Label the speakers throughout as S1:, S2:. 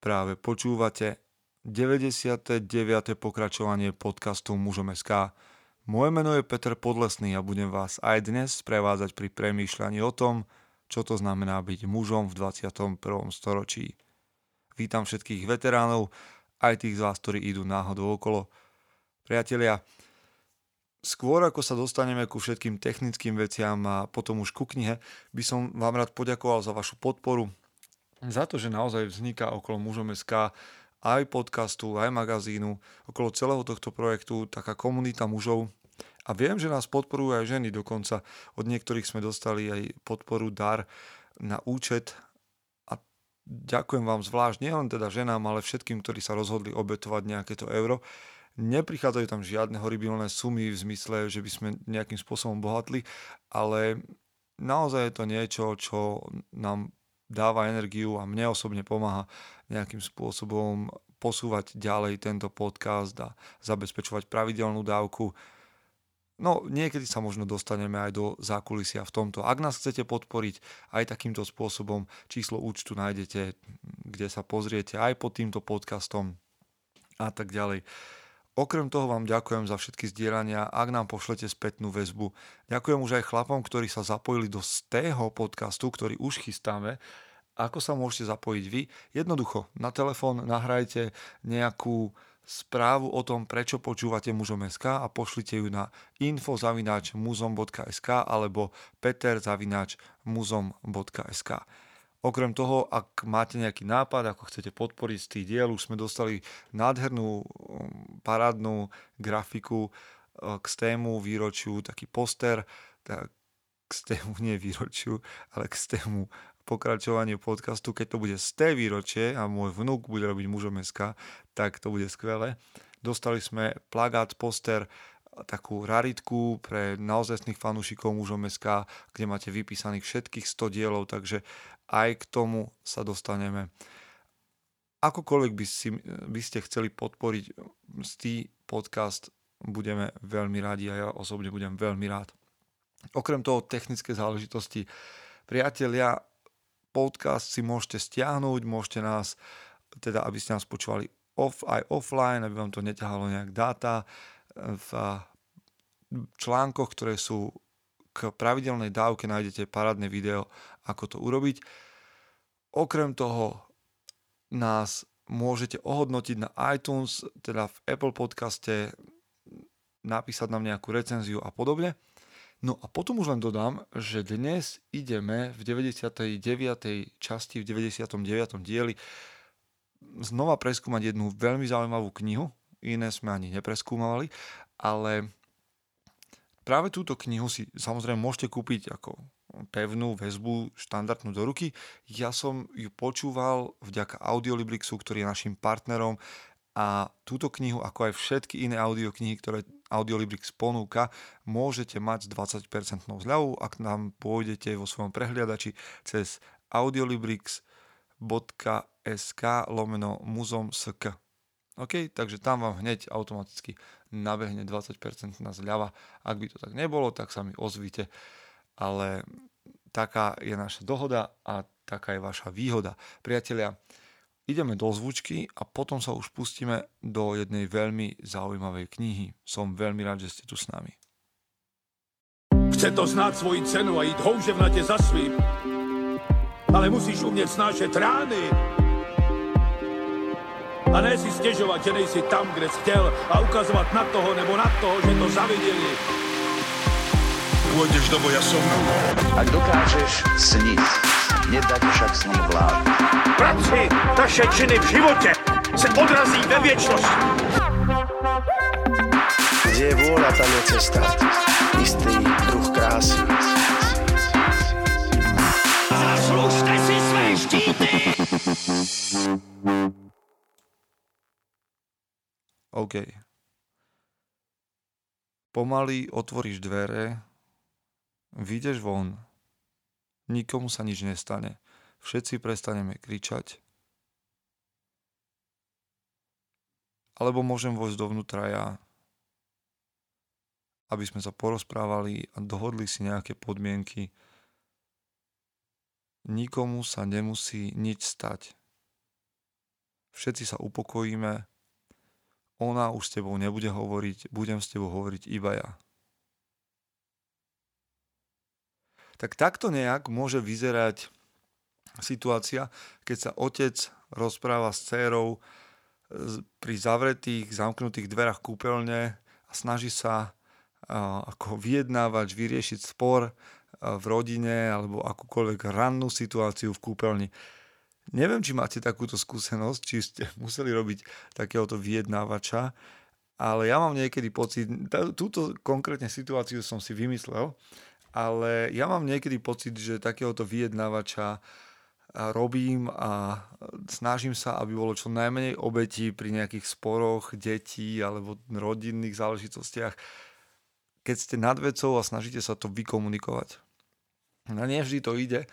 S1: Práve počúvate 99. pokračovanie podcastu Mužom.sk. Moje meno je Peter Podlesný a budem vás aj dnes sprevádzať pri premýšľaní o tom, čo to znamená byť mužom v 21. storočí. Vítam všetkých veteránov, aj tých z vás, ktorí idú náhodou okolo. Priatelia, skôr ako sa dostaneme ku všetkým technickým veciam a potom už ku knihe, by som vám rád poďakoval za vašu podporu, za to, že naozaj vzniká okolo Mužom.sk aj podcastu, aj magazínu, okolo celého tohto projektu taká komunita mužov. A viem, že nás podporujú aj ženy, dokonca od niektorých sme dostali aj podporu, dar na účet. A ďakujem vám zvlášť, nielen teda ženám, ale všetkým, ktorí sa rozhodli obetovať nejaké to euro. Neprichádzajú tam žiadne horibilné sumy v zmysle, že by sme nejakým spôsobom bohatli, ale naozaj je to niečo, čo nám dáva energiu a mne osobne pomáha nejakým spôsobom posúvať ďalej tento podcast a zabezpečovať pravidelnú dávku. No, niekedy sa možno dostaneme aj do zákulisia v tomto. Ak nás chcete podporiť aj takýmto spôsobom, číslo účtu nájdete, kde sa pozriete aj pod týmto podcastom a tak ďalej. Okrem toho vám ďakujem za všetky zdieľania, ak nám pošlete spätnú väzbu. Ďakujem už aj chlapom, ktorí sa zapojili do tého podcastu, ktorý už chystáme. Ako sa môžete zapojiť vy? Jednoducho, na telefón nahrajte nejakú správu o tom, prečo počúvate Mužom.sk a pošlite ju na info@muzom.sk alebo peter@muzom.sk. Okrem toho, ak máte nejaký nápad, ako chcete podporiť z tých diel, už sme dostali nádhernú parádnu grafiku k stému výročiu, taký poster, tak k stému nie výročiu, ale k stému pokračovaniu podcastu. Keď to bude z té výročie a môj vnúk bude robiť Mužom.sk, tak to bude skvelé. Dostali sme plagát, poster, takú raritku pre naozajstných fanúšikov Mužom.sk, kde máte vypísaných všetkých 100 dielov, takže aj k tomu sa dostaneme. Akokoľvek by ste chceli podporiť stý podcast, budeme veľmi radi a ja osobne budem veľmi rád. Okrem toho technické záležitosti, priatelia, podcast si môžete stiahnuť, môžete nás, teda aby ste nás počúvali aj offline, aby vám to neťahalo nejak dáta, v článkoch, ktoré sú k pravidelnej dávke, nájdete parádne video, ako to urobiť. Okrem toho nás môžete ohodnotiť na iTunes, teda v Apple podcaste, napísať nám nejakú recenziu a podobne. No a potom už len dodám, že dnes ideme v 99. časti, v 99. dieli znova preskúmať jednu veľmi zaujímavú knihu. Iné sme ani nepreskúmavali, ale práve túto knihu si samozrejme môžete kúpiť ako pevnú väzbu, štandardnú do ruky. Ja som ju počúval vďaka Audiolibrixu, ktorý je našim partnerom, a túto knihu, ako aj všetky iné audioknihy, ktoré Audiolibrix ponúka, môžete mať s 20% zľavou, ak nám pôjdete vo svojom prehliadači cez audiolibrix.sk/muzom.sk. OK, takže tam vám hneď automaticky nabehne 20% zľava. Ak by to tak nebolo, tak sa mi ozvite. Ale taká je naša dohoda a taká je vaša výhoda. Priatelia, ideme do zvučky a potom sa už pustíme do jednej veľmi zaujímavej knihy. Som veľmi rád, že ste tu s nami.
S2: Chce to znát svoji cenu a jít houževnatě za svým, ale musíš umět snášet rány. A ne si stěžovat, že nejsi tam, kde jsi chtěl, a ukazovat na toho nebo na toho, že to zaviděli. Pôjdeš do boja som.
S3: Ak dokážeš sniť, nedať však sním vlád.
S2: Práci taše činy v životě se odrazí ve věčnosti.
S4: Kde je vôľa, tam je cesta. Istý druh krásy.
S2: Zaslužte si své štíty!
S1: OK. Pomaly otvoríš dvere, vyjdeš von, nikomu sa nič nestane, všetci prestaneme kričať, alebo môžem vojsť dovnútra ja, aby sme sa porozprávali a dohodli si nejaké podmienky. Nikomu sa nemusí nič stať. všetci sa upokojíme, ona už s tebou nebude hovoriť, budem s tebou hovoriť iba ja. Tak takto nejak môže vyzerať situácia, keď sa otec rozpráva s dcérou pri zavretých, zamknutých dverách kúpeľne a snaží sa ako vyjednávať, vyriešiť spor v rodine alebo akúkoľvek rannú situáciu v kúpeľni. Neviem, či máte takúto skúsenosť, či ste museli robiť takéhoto vyjednávača, ale ja mám niekedy pocit, túto konkrétne situáciu som si vymyslel, ale ja mám niekedy pocit, že takéhoto vyjednávača robím a snažím sa, aby bolo čo najmenej obetí pri nejakých sporoch detí alebo rodinných záležitostiach, keď ste nad vecou a snažíte sa to vykomunikovať. No nie vždy to ide,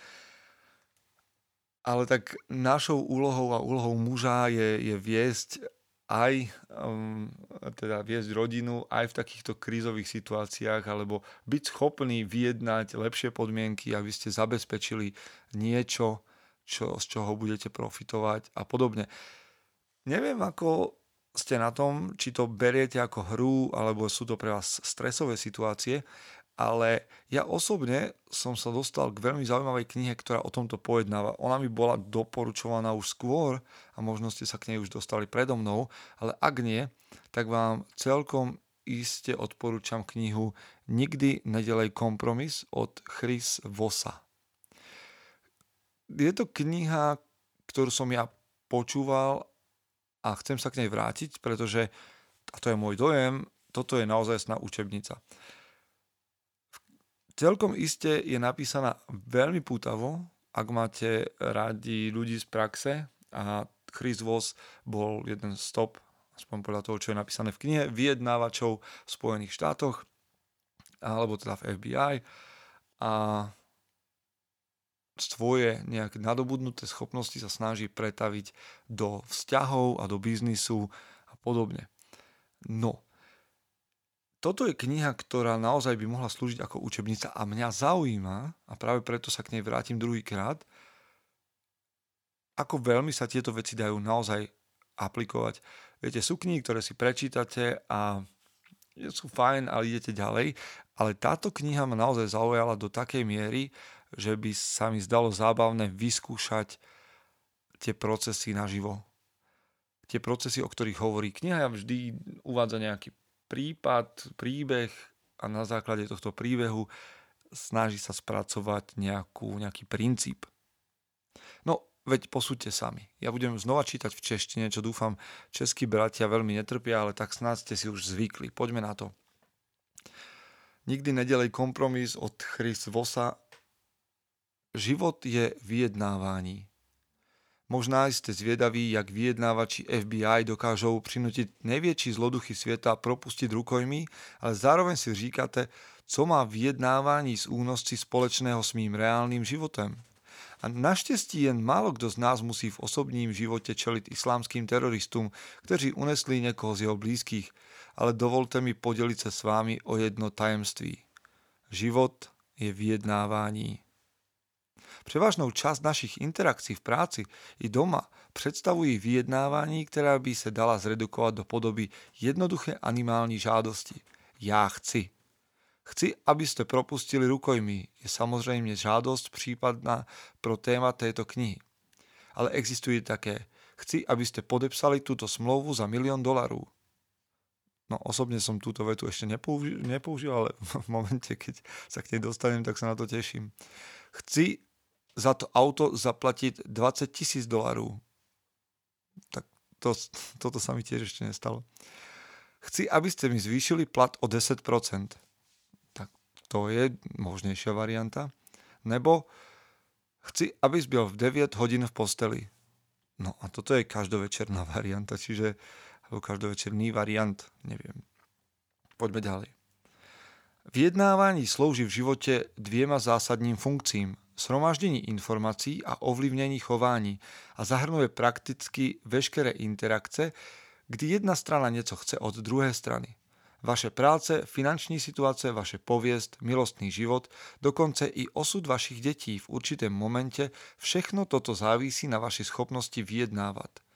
S1: ale tak našou úlohou a úlohou muža je viesť aj teda viesť rodinu aj v takýchto krízových situáciách alebo byť schopný vyjednať lepšie podmienky, aby ste zabezpečili niečo, z čoho budete profitovať a podobne. Neviem, ako ste na tom, či to beriete ako hru, alebo sú to pre vás stresové situácie, ale ja osobne som sa dostal k veľmi zaujímavej knihe, ktorá o tomto pojednáva. Ona mi bola doporučovaná už skôr a možno ste sa k nej už dostali predo mnou, ale ak nie, tak vám celkom iste odporúčam knihu Nikdy nedelej kompromis od Chris Vossa. Je to kniha, ktorú som ja počúval a chcem sa k nej vrátiť, pretože, a to je môj dojem, toto je naozajstná učebnica. Celkom iste je napísaná veľmi pútavo, ak máte radi ľudí z praxe a Chris Voss bol jeden z top, aspoň podľa toho, čo je napísané v knihe, vyjednávačov v Spojených štátoch, alebo teda v FBI a svoje nejaké nadobudnuté schopnosti sa snaží pretaviť do vzťahov a do biznisu a podobne. No, toto je kniha, ktorá naozaj by mohla slúžiť ako učebnica a mňa zaujíma, a práve preto sa k nej vrátim druhýkrát, ako veľmi sa tieto veci dajú naozaj aplikovať. Viete, sú knihy, ktoré si prečítate a sú fajn, ale idete ďalej, ale táto kniha ma naozaj zaujala do takej miery, že by sa mi zdalo zábavné vyskúšať tie procesy naživo. Tie procesy, o ktorých hovorí kniha, vždy uvádza nejaký prípad, príbeh a na základe tohto príbehu snaží sa spracovať nejaký princíp. No, veď posúďte sami. Ja budem znova čítať v češtine, čo dúfam českí bratia veľmi netrpia, ale tak snáď ste si už zvykli. Poďme na to. Nikdy nedelej kompromis od Chris Vossa. Život je vyjednávaní. Možná ste zvedaví, jak vyjednávači FBI dokážou prinútiť najväčší zloduchy sveta propustiť rukojmí, ale zároveň si říkáte, co má vyjednávání z únosci společného s mým reálnym životem. A naštěstí jen málo kdo z nás musí v osobním životě čelit islámským teroristům, kteří unesli někoho z jeho blízkých, ale dovolte mi podělit se s vámi o jedno tajemství. Život je vyjednávání. Převážnou část našich interakcí v práci i doma představují vyjednávání, která by se dala zredukovat do podoby jednoduché animální žádosti. Já chci. Chci, abyste propustili rukojmí, je samozřejmě žádost případná pro téma této knihy. Ale existuje také. Chci, abyste podepsali túto smlouvu za $1 000 000. No osobne som túto vetu ešte nepoužil, ale v momente, keď sa k nej dostanem, tak sa na to teším. Chci za to auto zaplatiť $20 000. Tak toto sa mi tiež ešte nestalo. Chci, aby ste mi zvýšili plat o 10%. Tak to je možnejšia varianta. Nebo chci, aby byl v 9 hodín v posteli. No a toto je každovečerná varianta, čiže alebo každovečerný variant, neviem. Poďme ďalej. Vyjednávání slouží v živote dvěma zásadním funkcím. Shromaždení informací a ovlivnění chování a zahrnuje prakticky veškeré interakce, kdy jedna strana něco chce od druhé strany. Vaše práce, finanční situace, vaše pověst, milostný život, dokonce i osud vašich dětí v určitém momente, všechno toto závisí na vaší schopnosti vyjednávat.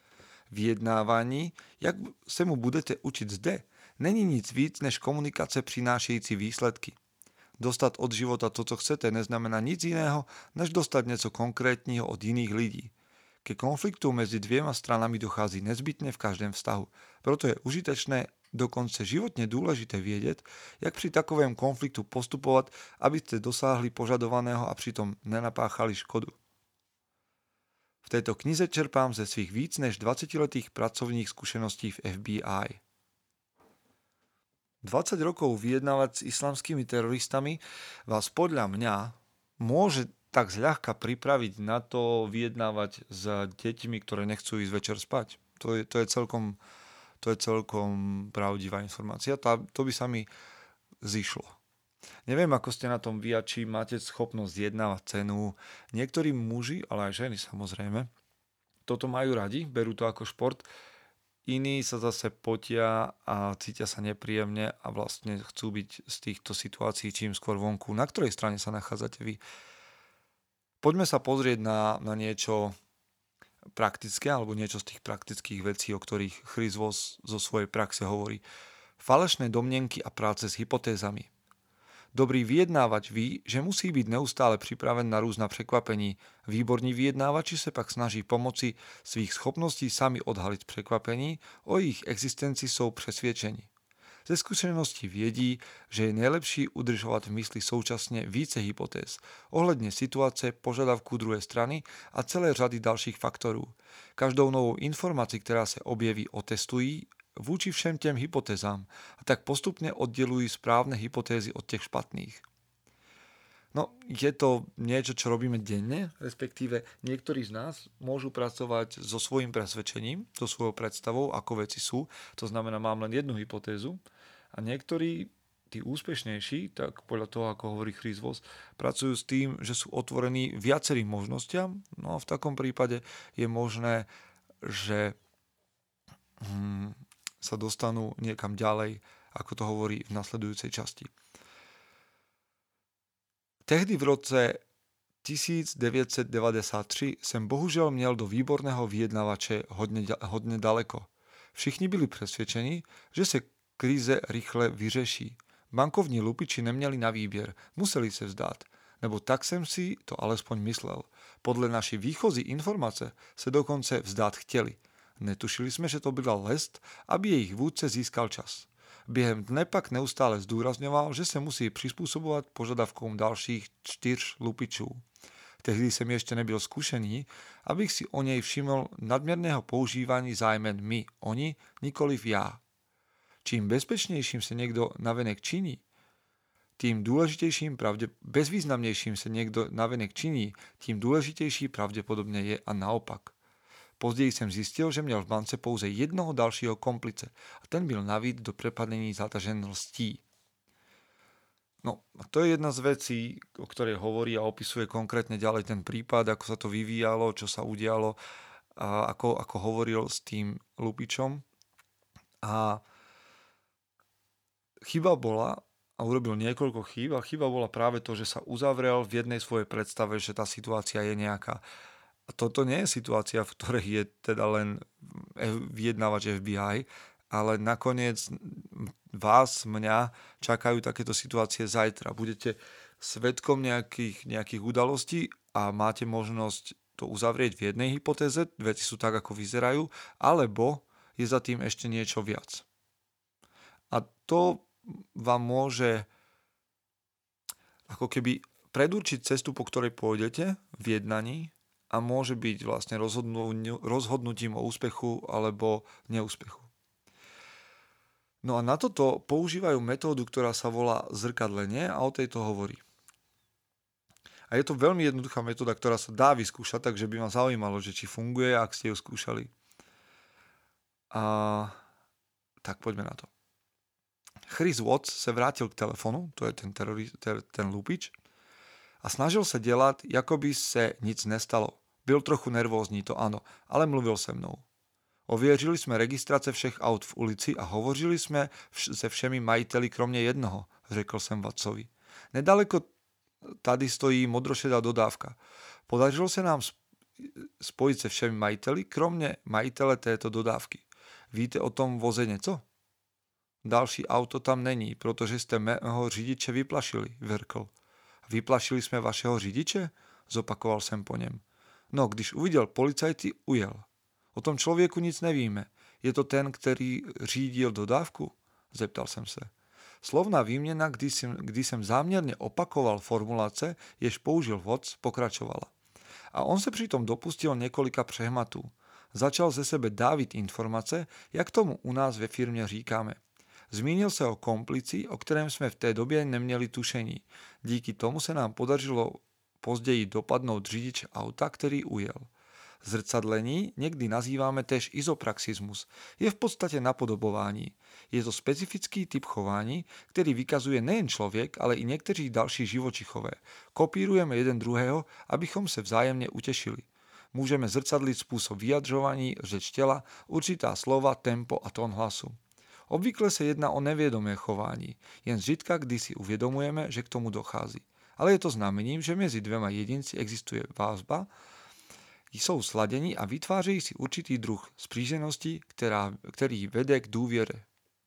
S1: vyjednávání, jak se mu budete učit zde, není nic víc než komunikace přinášející výsledky. Dostat od života to, co chcete, neznamená nic jiného, než dostat něco konkrétního od jiných lidí. Ke konfliktu mezi dvěma stranami dochází nezbytně v každém vztahu. Proto je užitečné, dokonce životně důležité vědět, jak při takovém konfliktu postupovat, abyste dosáhli požadovaného a přitom nenapáchali škodu. V této knize čerpám ze svých víc než 20letých pracovních zkušeností v FBI. 20 rokov vyjednávať s islamskými teroristami vás podľa mňa môže tak zľahka pripraviť na to vyjednávať s deťmi, ktoré nechcú ísť večer spať. To je celkom pravdivá informácia. To by sa mi zišlo. Neviem, ako ste na tom vy a či máte schopnosť vyjednávať cenu. Niektorí muži, ale aj ženy samozrejme, toto majú radi, berú to ako šport. Iní sa zase potia a cítia sa nepríjemne a vlastne chcú byť z týchto situácií čím skôr vonku. Na ktorej strane sa nachádzate vy? Poďme sa pozrieť na niečo praktické alebo niečo z tých praktických vecí, o ktorých Chris Voss zo svojej praxe hovorí. Falešné domnenky a práce s hypotézami. Dobrý vyjednávač ví, že musí byť neustále pripraven na různa překvapení. Výborní vyjednávači se pak snaží pomoci svých schopností sami odhalit překvapení, o jejich existenci jsou přesvědčeni. Ze skúseností vědí, že je nejlepší udržovat v mysli současně více hypotéz ohledně situace, požadavku druhé strany a celé řady dalších faktorů. Každou novou informaci, která se objeví, otestují vůči všem těm hypotézám a tak postupně oddelují správne hypotézy od těch špatných. No, je to niečo, čo robíme denne, respektíve niektorí z nás môžu pracovať so svojím presvedčením, so svojou predstavou, ako veci sú. To znamená, mám len jednu hypotézu a niektorí, tí úspešnejší, tak podľa toho, ako hovorí Chris Voss, pracujú s tým, že sú otvorení viacerým možnostiam. No a v takom prípade je možné, že sa dostanú niekam ďalej, ako to hovorí v nasledujúcej časti. Tehdy v roce 1993 jsem bohužel měl do výborného vyjednavače hodně daleko. Všichni byli přesvědčeni, že se krize rychle vyřeší. Bankovní lupiči neměli na výběr, museli se vzdát. Nebo tak jsem si to alespoň myslel. Podle naší výchozí informace se dokonce vzdát chtěli. Netušili jsme, že to byla lest, aby jejich vůdce získal čas. Během dne pak neustále zdůrazňoval, že se musí přizpůsobovat požadavkům dalších 4 lupičů. Tehdy jsem ještě nebyl zkušený, abych si o něj všiml nadměrného používání zájmen my, oni, nikoliv já. Čím bezpečnějším se někdo navenek činí, tím bezvýznamnějším se někdo navenek činí, tím důležitější pravděpodobně je a naopak. Později jsem zjistil, že měl v bance pouze jednoho dalšího komplice a ten byl navíc do prepadení zatažen lstí. No, a to je jedna z vecí, o ktorej hovorí a opisuje konkrétne ďalej ten prípad, ako sa to vyvíjalo, čo sa udialo a ako hovoril s tým lupičom. A chyba bola, a urobil niekoľko chýb, a chyba bola práve to, že sa uzavrel v jednej svojej predstave, že tá situácia je nejaká. A toto nie je situácia, v ktorej je teda len vyjednávač FBI, ale nakoniec vás, mňa, čakajú takéto situácie zajtra. Budete svedkom nejakých udalostí a máte možnosť to uzavrieť v jednej hypotéze, veci sú tak, ako vyzerajú, alebo je za tým ešte niečo viac. A to vám môže ako keby predurčiť cestu, po ktorej pôjdete v jednaní, a môže byť vlastne rozhodnutím o úspechu alebo neúspechu. No a na toto používajú metódu, ktorá sa volá zrkadlenie a o tejto hovorí. A je to veľmi jednoduchá metóda, ktorá sa dá vyskúšať, takže by ma zaujímalo, že či funguje, ak ste ju skúšali. Tak poďme na to. Chris Watts se vrátil k telefonu, to je ten lupič, a snažil se dělat, jako by se nic nestalo. Byl trochu nervózní, to ano, ale mluvil se mnou. Ověřili jsme registrace všech aut v ulici a hovořili jsme se všemi majiteli kromě jednoho, řekl jsem Wattsovi. Nedaleko tady stojí modrošedá dodávka. Podařilo se nám spojit se všemi majiteli, kromě majitele této dodávky. Víte o tom voze něco? Další auto tam není, protože jste mého řidiče vyplašili, vrkl. Vyplašili jsme vašeho řidiče? Zopakoval jsem po něm. No, když uviděl policajty, ujel. O tom člověku nic nevíme. Je to ten, který řídil dodávku? Zeptal jsem se. Slovná výměna, kdy jsem záměrně opakoval formulace, jež použil vodc, pokračovala. A on se přitom dopustil několika přehmatů. Začal ze sebe dávit informace, jak tomu u nás ve firmě říkáme. Zmínil se o komplici, o kterém jsme v té době neměli tušení. Díky tomu se nám podařilo později dopadnout řidiče auta, který ujel. Zrcadlení někdy nazýváme též izopraxismus. Je v podstatě napodobování. Je to specifický typ chování, který vykazuje nejen člověk, ale i někteří další živočichové. Kopírujeme jeden druhého, abychom se vzájemně utěšili. Můžeme zrcadlit způsob vyjadřování, řeč těla, určitá slova, tempo a tón hlasu. Obvykle se jedná o nevědomé chování, jen zřídka, kdy si uvědomujeme, že k tomu dochází. Ale je to znamením, že mezi dvěma jedinci existuje vazba, jsou sladění a vytvářejí si určitý druh spříženosti, který vede k důvěře.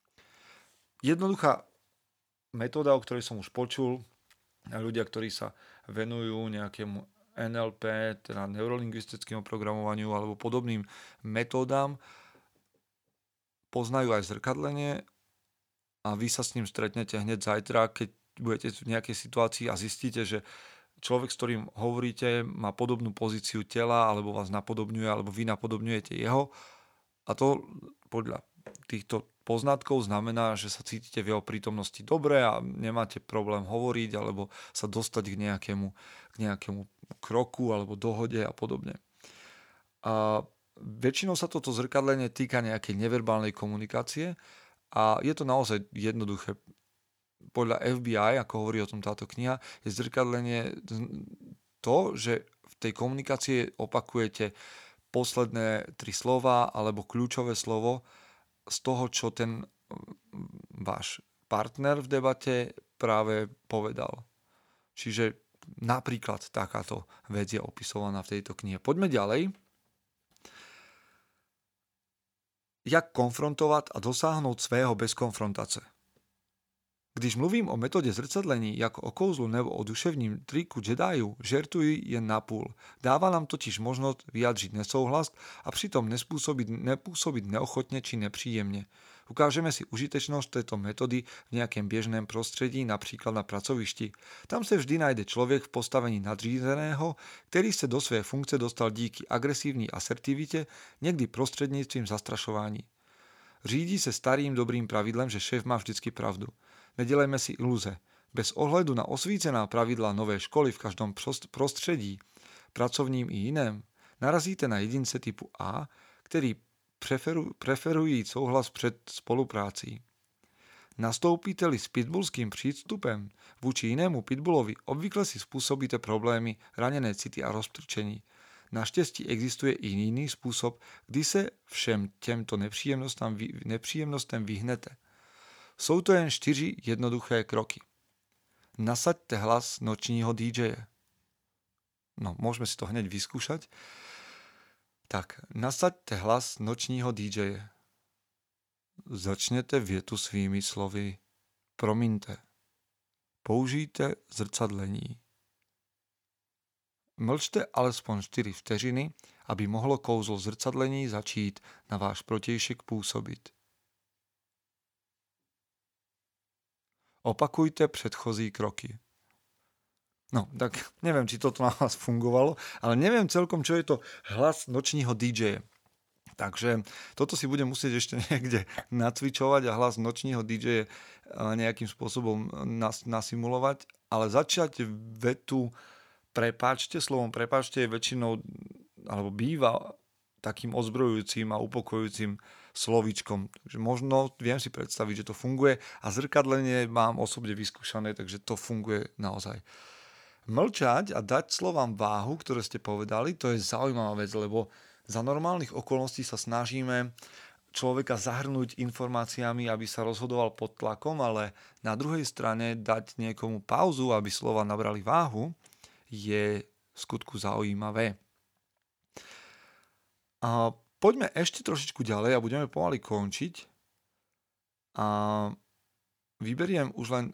S1: Jednoduchá metóda, o ktorej som už počul, ľudia, ktorí sa venujú nejakému NLP, teda neurolingvistickému programovaniu alebo podobným metódám, poznajú aj zrkadlenie a vy sa s ním stretnete hneď zajtra, keď budete v nejakej situácii a zistíte, že človek, s ktorým hovoríte, má podobnú pozíciu tela, alebo vás napodobňuje, alebo vy napodobňujete jeho. A to podľa týchto poznatkov znamená, že sa cítite v jeho prítomnosti dobre a nemáte problém hovoriť, alebo sa dostať k nejakému kroku, alebo dohode a podobne. A väčšinou sa toto zrkadlenie týka nejakej neverbálnej komunikácie a je to naozaj jednoduché. Podľa FBI, ako hovorí o tom táto kniha, je zrkadlenie to, že v tej komunikácii opakujete posledné 3 slova alebo kľúčové slovo z toho, čo ten váš partner v debate práve povedal. Čiže napríklad takáto vec je opisovaná v tejto knihe. Poďme ďalej. Jak konfrontovat a dosáhnout svého bez konfrontace. Když mluvím o metodě zrcadlení jako o kouzlu nebo o duševním triku Jediů, žertuji jen napůl. Dává nám totiž možnost vyjádřit nesouhlas a přitom nepůsobit neochotně či nepříjemně. Ukážeme si užitečnost této metody v nějakém běžném prostředí, například na pracovišti. Tam se vždy najde člověk v postavení nadřízeného, který se do své funkce dostal díky agresivní asertivitě, někdy prostřednictvím zastrašování. Řídí se starým dobrým pravidlem, že šéf má vždycky pravdu. Nedělejme si iluze. Bez ohledu na osvícená pravidla nové školy v každém prostředí, pracovním i jiném, narazíte na jedince typu A, který preferují souhlas před spoluprácí. Nastoupíte-li s pitbullským přístupem vůči jinému pitbullovi, obvykle si způsobíte problémy, raněné city a roztrčení. Naštěstí existuje i jiný způsob, kdy se všem těmto nepříjemnostem vyhnete. Jsou to jen 4 jednoduché kroky. Nasaďte hlas nočního DJe. No, môžeme si to hneď vyskúšať. Tak, nasaďte hlas nočního DJe. Začněte větu svými slovy. Promiňte. Použijte zrcadlení. Mlčte alespoň 4 vteřiny, aby mohlo kouzlo zrcadlení začít na váš protějšek působit. Opakujte předchozí kroky. No, tak neviem, či toto na vás fungovalo, ale neviem celkom, čo je to hlas nočního DJ. Takže toto si budem musieť ešte niekde nacvičovať a hlas nočního DJ nejakým spôsobom nasimulovať, ale začať vetu prepáčte, slovom prepáčte je väčšinou, alebo býva takým ozbrojujúcim a upokojujúcim slovíčkom. Takže možno viem si predstaviť, že to funguje a zrkadlenie mám osobne vyskúšané, takže to funguje naozaj. Mlčať a dať slovám váhu, ktoré ste povedali, to je zaujímavá vec, lebo za normálnych okolností sa snažíme človeka zahrnúť informáciami, aby sa rozhodoval pod tlakom, ale na druhej strane dať niekomu pauzu, aby slova nabrali váhu, je v skutku zaujímavé. A poďme ešte trošičku ďalej a budeme pomaly končiť. A vyberiem už len...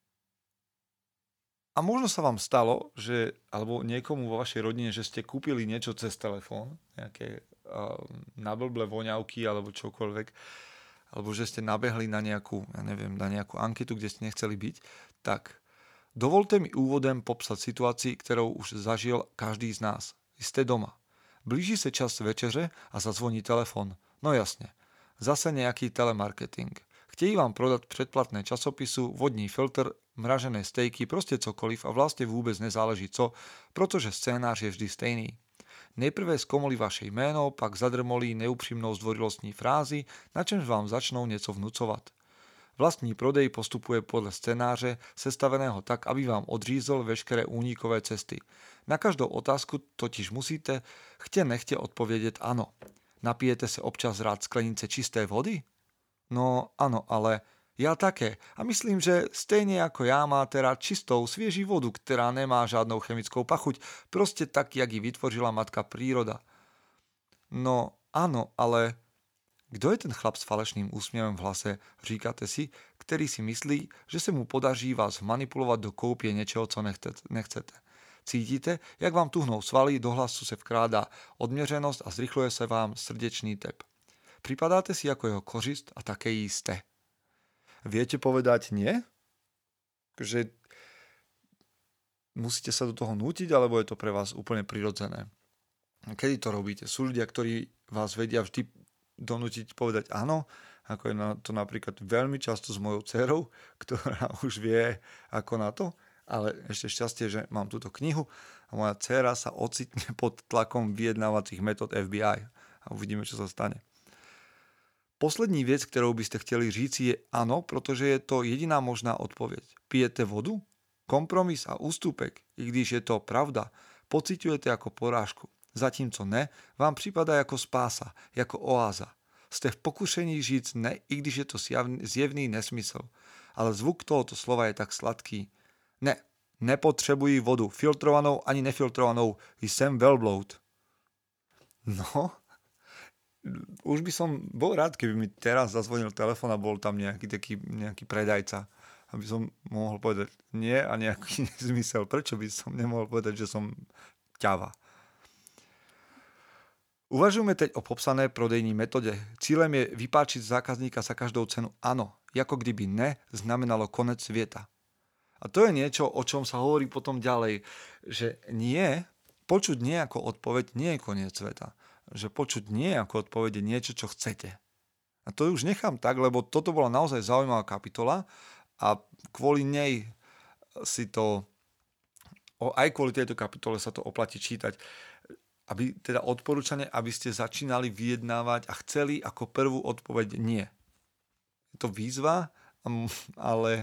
S1: A možno sa vám stalo, že, alebo niekomu vo vašej rodine, že ste kúpili niečo cez telefón, nejaké nablblé voňavky alebo čokoľvek, alebo že ste nabehli na nejakú, na nejakú anketu, kde ste nechceli byť, tak dovolte mi úvodem popsať situácii, ktorou už zažil každý z nás. Ste doma. Blíži sa čas večeře a zazvoní telefon. No jasne. Zase nejaký telemarketing. Chtějí vám prodat předplatné časopisu, vodní filtr, mražené stejky, prostě cokoliv a vlastně vůbec nezáleží co, protože scénář je vždy stejný. Nejprve zkomolí vaše jméno, pak zadrmolí neupřímnou zdvorilostní frázi, na čemž vám začnou něco vnucovat. Vlastní prodej postupuje podle scénáře, sestaveného tak, aby vám odřízl veškeré únikové cesty. Na každou otázku totiž musíte chtě nechtě odpovědět ano. Napijete se občas rád sklenice čisté vody? No áno, ale ja také. A myslím, že stejne ako ja máte rád čistou, svieži vodu, ktorá nemá žiadnou chemickou pachuť, proste tak, jak ji vytvořila matka príroda. No áno, ale kto je ten chlap s falešným úsmievom v hlase, říkáte si, ktorý si myslí, že sa mu podaří vás manipulovať do koupie niečoho, co nechcete. Cítite, jak vám tuhnou svaly, do hlasu se vkrádá odměřenosť a zrychluje sa vám srdečný tep. Pripadáte si ako jeho kořist a také jisté. Viete povedať nie? Že musíte sa do toho nútiť, alebo je to pre vás úplne prirodzené? Kedy to robíte? Sú ľudia, ktorí vás vedia vždy donútiť povedať áno, ako je to napríklad veľmi často s mojou dcerou, ktorá už vie ako na to, ale ešte šťastie, že mám túto knihu a moja dcera sa ocitne pod tlakom vyjednávacích metód FBI a uvidíme, čo sa stane. Poslední věc, kterou byste chtěli říci, je ano, protože je to jediná možná odpověď. Pijete vodu? Kompromis a ústupek, i když je to pravda, pociťujete jako porážku. Zatímco ne, vám připadá jako spása, jako oáza. Jste v pokušení říct ne, i když je to zjevný nesmysl. Ale zvuk tohoto slova je tak sladký. Ne, nepotřebuji vodu, filtrovanou ani nefiltrovanou, jsem velbloud. No... Už by som bol rád, keby mi teraz zazvonil telefón a bol tam nejaký predajca, aby som mohol povedať nie a nejaký nezmysel. Prečo by som nemohol povedať, že som ťava? Uvažujeme teď o popsané prodejní metode. Cílem je vypáčiť zákazníka za každou cenu ano, ako kdyby ne znamenalo konec sveta. A to je niečo, o čom sa hovorí potom ďalej, že nie, počuť nie ako odpoveď nie je koniec sveta. Že počuť nie ako odpovede niečo, čo chcete. A to už nechám tak, lebo toto bola naozaj zaujímavá kapitola a kvôli nej si to, aj kvôli tejto kapitole sa to oplatí čítať. Aby teda odporúčanie, aby ste začínali vyjednávať a chceli ako prvú odpoveď nie. Je to výzva, ale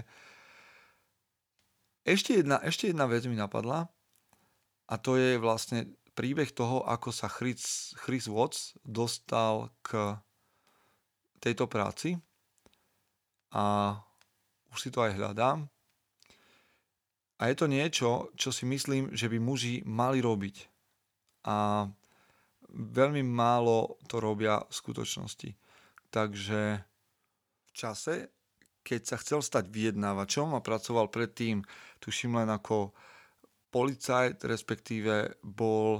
S1: ešte jedna vec mi napadla a to je vlastne príbeh toho, ako sa Chris Watts dostal k tejto práci a už si to aj hľadám. A je to niečo, čo si myslím, že by muži mali robiť. A veľmi málo to robia v skutočnosti. Takže v čase, keď sa chcel stať vyjednávačom a pracoval predtým, tuším len ako policajt, respektíve bol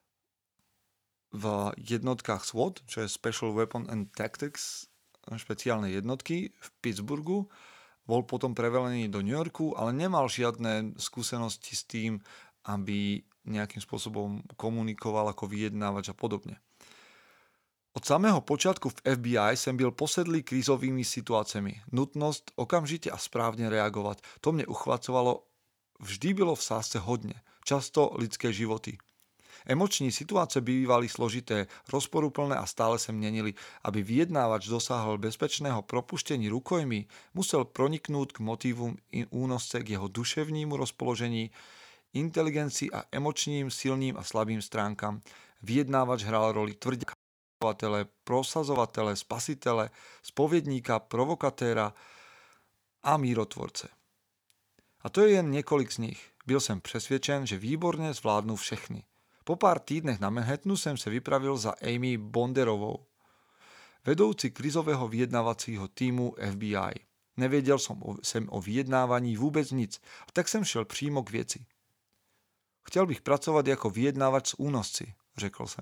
S1: v jednotkách SWAT, čo je Special Weapon and Tactics, špeciálne jednotky v Pittsburghu. Bol potom prevelený do New Yorku, ale nemal žiadne skúsenosti s tým, aby nejakým spôsobom komunikoval ako vyjednávač a podobne. Od samého počátku v FBI som byl posedlý krízovými situáciami. Nutnosť okamžite a správne reagovať. To mne uchvacovalo. Vždy bylo v sásce hodne, často lidské životy. Emoční situácie bývali složité, rozporuplné a stále sa menili. Aby vyjednávač dosáhol bezpečného propuštení rukojmí, musel proniknúť k motívom únosce k jeho duševnímu rozpoložení, inteligencii a emočným, silným a slabým stránkam. Vyjednávač hral roli tvrďakovatele, prosazovatele, spasitele, spovedníka, provokatéra a mírotvorce. A to je jen několik z nich. Byl jsem přesvědčen, že výborně zvládnu všechny. Po pár týdnech na Manhattanu jsem se vypravil za Amy Bonderovou, vedoucí krizového vyjednávacího týmu FBI. Nevěděl jsem o vyjednávání vůbec nic, tak jsem šel přímo k věci. Chtěl bych pracovat jako vyjednávač s únosci, řekl jsem.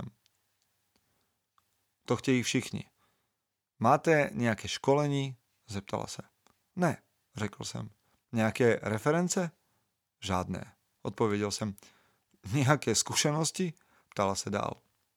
S1: To chtějí všichni. Máte nějaké školení? Zeptala se. Ne, řekl jsem. Nějaké reference? Žádné, odpověděl jsem. Nějaké zkušenosti? Ptala se dál.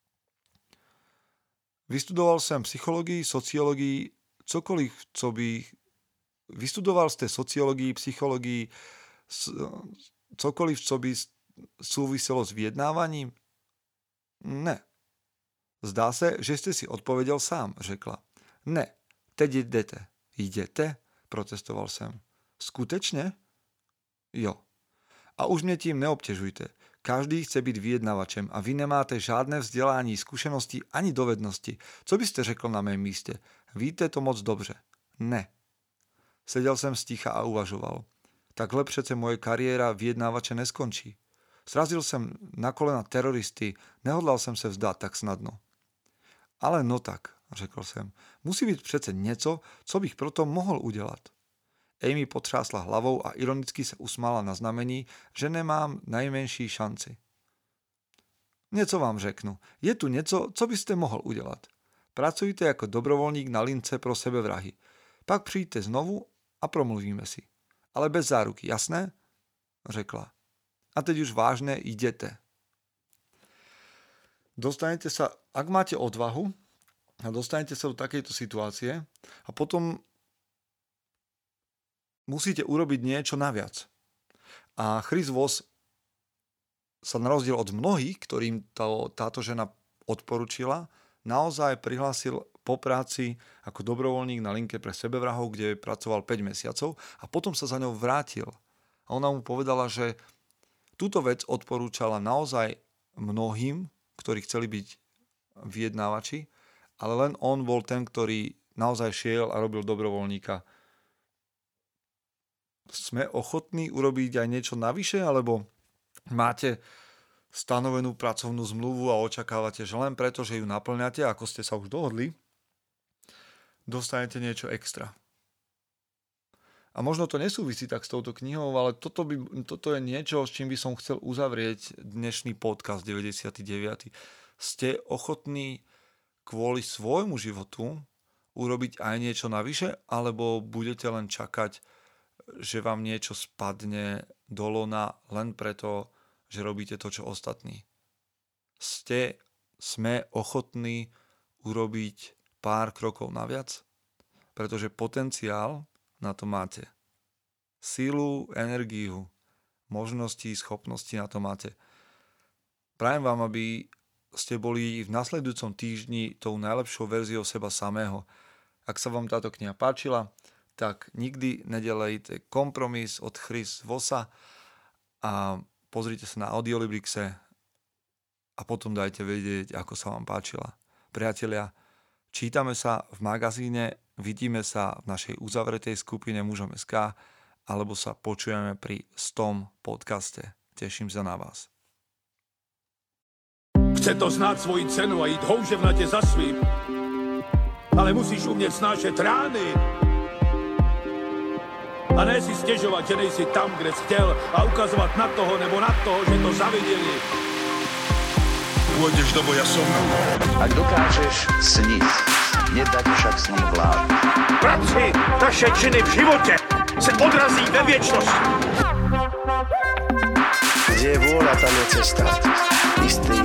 S1: Vystudoval jsem psychologii, sociologii, cokoliv, co bych... Vystudoval jste sociologii, psychologii, cokoliv, co by souviselo s vyjednáváním? Ne. Zdá se, že jste si odpověděl sám, řekla. Ne, teď jdete. Jdete? Protestoval jsem. Skutečně? Jo. A už mě tím neobtěžujte. Každý chce být vyjednavačem a vy nemáte žádné vzdělání, zkušenosti ani dovednosti. Co byste řekl na mém místě? Víte to moc dobře. Ne. Seděl jsem sticha a uvažoval. Takhle přece moje kariéra vyjednávače neskončí. Srazil jsem na kolena teroristy, nehodlal jsem se vzdát tak snadno. Ale no tak, řekl jsem, musí být přece něco, co bych proto mohl udělat. Amy potřásla hlavou a ironicky se usmála na znamení, že nemám najmenší šanci. Něco vám řeknu. Je tu něco, co byste mohl udělat. Pracujte jako dobrovolník na lince pro sebevrahy. Pak přijďte znovu a promluvíme si. Ale bez záruky, jasné? Řekla. A teď už vážne idete. Dostanete sa, ak máte odvahu, a dostanete sa do takejto situácie a potom musíte urobiť niečo naviac. A Chris Voss sa na rozdiel od mnohých, ktorým táto žena odporúčila, naozaj prihlásil po práci ako dobrovoľník na linke pre sebevrahov, kde pracoval 5 mesiacov a potom sa za ňou vrátil. A ona mu povedala, že túto vec odporúčala naozaj mnohým, ktorí chceli byť vyjednávači, ale len on bol ten, ktorý naozaj šiel a robil dobrovoľníka. Sme ochotní urobiť aj niečo navyše, alebo máte stanovenú pracovnú zmluvu a očakávate, že len preto, že ju naplňate, ako ste sa už dohodli, dostanete niečo extra. A možno to nesúvisí tak s touto knihou, ale toto je niečo, s čím by som chcel uzavrieť dnešný podcast 99. Ste ochotní kvôli svojmu životu urobiť aj niečo navyše, alebo budete len čakať, že vám niečo spadne do lona len preto, že robíte to, čo ostatní. Sme ochotní urobiť pár krokov naviac, pretože potenciál na to máte. Sílu, energiu, možnosti, schopnosti na to máte. Prajem vám, aby ste boli v nasledujúcom týždni tou najlepšou verziou seba samého. Ak sa vám táto kniha páčila, tak nikdy nedelejte Kompromis od Chris Vossa a pozrite sa na Audiolibrixe a potom dajte vedieť, ako sa vám páčila. Priatelia, čítame sa v magazíne, vidíme sa v našej uzavretej skupine Mužom.sk alebo sa počujeme pri 100. podcaste. Teším sa na vás.
S2: Chce to znát svoji cenu a jít houževnatě za svým, ale musíš umět snášet rány a ne si stěžovat, že nejsi tam, kde jsi chtěl a ukazovat na toho nebo na toho, že to zaviděli. Pôjdeš do boja som.
S3: Ak dokážeš sniť, nedať však sním vlád.
S2: Práci, taše činy v životě se odrazí ve věčnosti.
S4: Kde je vôľa, tam je cesta. Istý